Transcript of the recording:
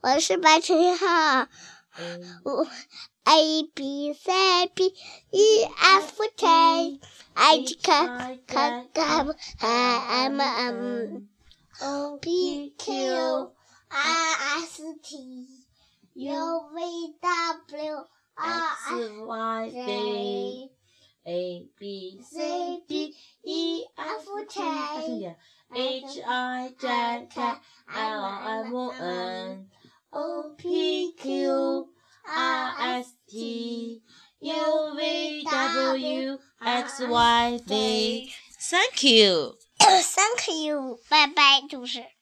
我是白晨浩。A B C D E F G H K K L M N O P Q R S T U V W X Y Z A B C D E F G H I J K L M N O P Q R S T U V W X Y Z. Thank you. Thank you. 拜拜，主持人。